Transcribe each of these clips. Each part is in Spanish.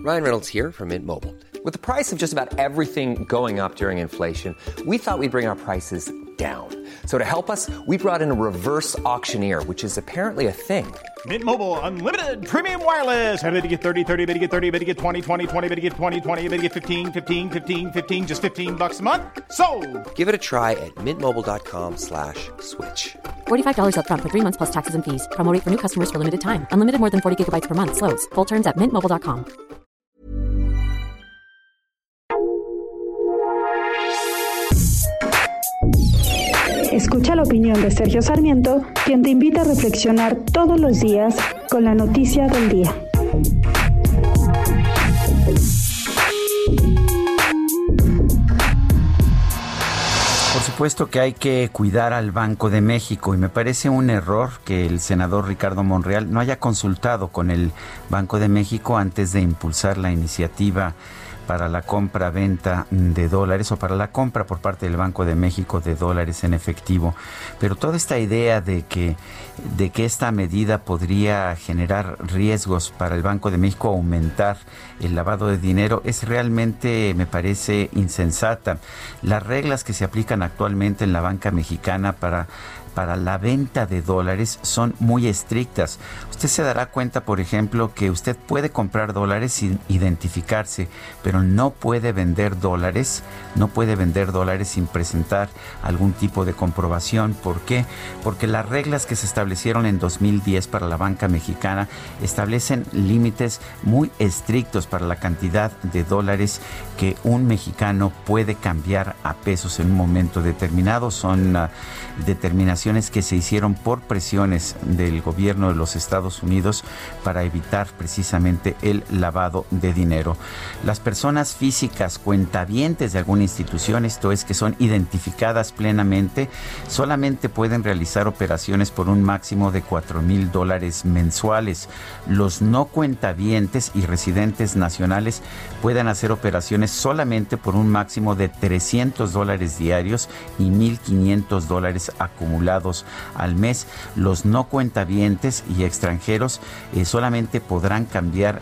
Ryan Reynolds here from Mint Mobile. With the price of just about everything going up during inflation, we thought we'd bring our prices down. So to help us, we brought in a reverse auctioneer, which is apparently a thing. Mint Mobile Unlimited Premium Wireless. How to get 30, 30, how to get 30, how to get 20, 20, 20, how to get 20, 20, how to get 15, 15, 15, 15, just $15 a month? Sold! Give it a try at mintmobile.com/switch. $45 up front for 3 months plus taxes and fees. Promo rate for new customers for limited time. Unlimited more than 40 gigabytes per month. Slows full terms at mintmobile.com. Escucha la opinión de Sergio Sarmiento, quien te invita a reflexionar todos los días con la noticia del día. Por supuesto que hay que cuidar al Banco de México y me parece un error que el senador Ricardo Monreal no haya consultado con el Banco de México antes de impulsar la iniciativa para la compra-venta de dólares o para la compra por parte del Banco de México de dólares en efectivo. Pero toda esta idea de que esta medida podría generar riesgos para el Banco de México, aumentar el lavado de dinero, es realmente, me parece, insensata. Las reglas que se aplican actualmente en la banca mexicana para la venta de dólares son muy estrictas. Usted se dará cuenta, por ejemplo, que usted puede comprar dólares sin identificarse, pero no puede vender dólares sin presentar algún tipo de comprobación. ¿Por qué? Porque las reglas que se establecieron en 2010 para la banca mexicana establecen límites muy estrictos para la cantidad de dólares que un mexicano puede cambiar a pesos en un momento determinado. Son determinaciones que se hicieron por presiones del gobierno de los Estados Unidos para evitar precisamente el lavado de dinero. Las personas físicas cuentavientes de alguna institución, esto es, que son identificadas plenamente, solamente pueden realizar operaciones por un máximo de $4,000 mensuales. Los no cuentavientes y residentes nacionales pueden hacer operaciones solamente por un máximo de $300 diarios y $1,500 acumulados al mes. Los no cuentavientes y extranjeros solamente podrán cambiar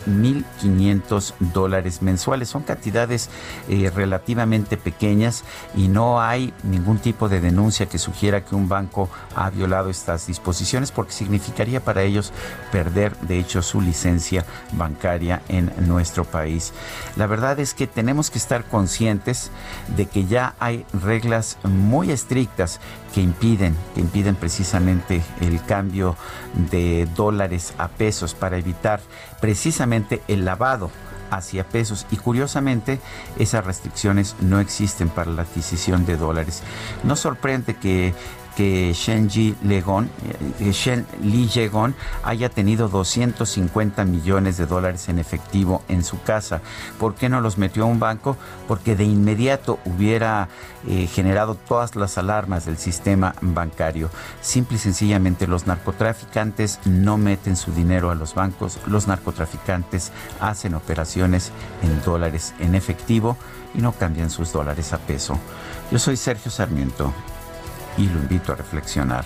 $1,500 mensuales. Son cantidades relativamente pequeñas y no hay ningún tipo de denuncia que sugiera que un banco ha violado estas disposiciones, porque significaría para ellos perder, de hecho, su licencia bancaria en nuestro país. La verdad es que tenemos que estar conscientes de que ya hay reglas muy estrictas que impiden precisamente el cambio de dólares a pesos para evitar precisamente el lavado hacia pesos, y curiosamente esas restricciones no existen para la adquisición de dólares. No sorprende que Shen Li Yegon haya tenido $250 millones en efectivo en su casa. ¿Por qué no los metió a un banco? Porque de inmediato hubiera generado todas las alarmas del sistema bancario. Simple y sencillamente los narcotraficantes no meten su dinero a los bancos. Los narcotraficantes hacen operaciones en dólares en efectivo y no cambian sus dólares a peso. Yo soy Sergio Sarmiento y lo invito a reflexionar.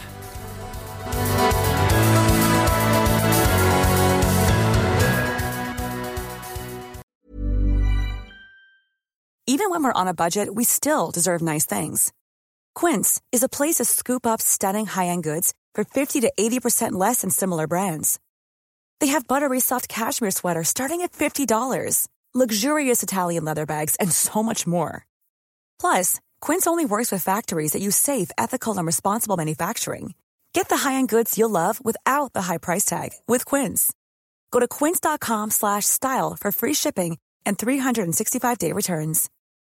Even when we're on a budget, we still deserve nice things. Quince is a place to scoop up stunning high-end goods for 50 to 80% less than similar brands. They have buttery soft cashmere sweaters starting at $50, luxurious Italian leather bags, and so much more. Plus, Quince only works with factories that use safe, ethical, and responsible manufacturing. Get the high-end goods you'll love without the high price tag with Quince. Go to quince.com/style for free shipping and 365-day returns.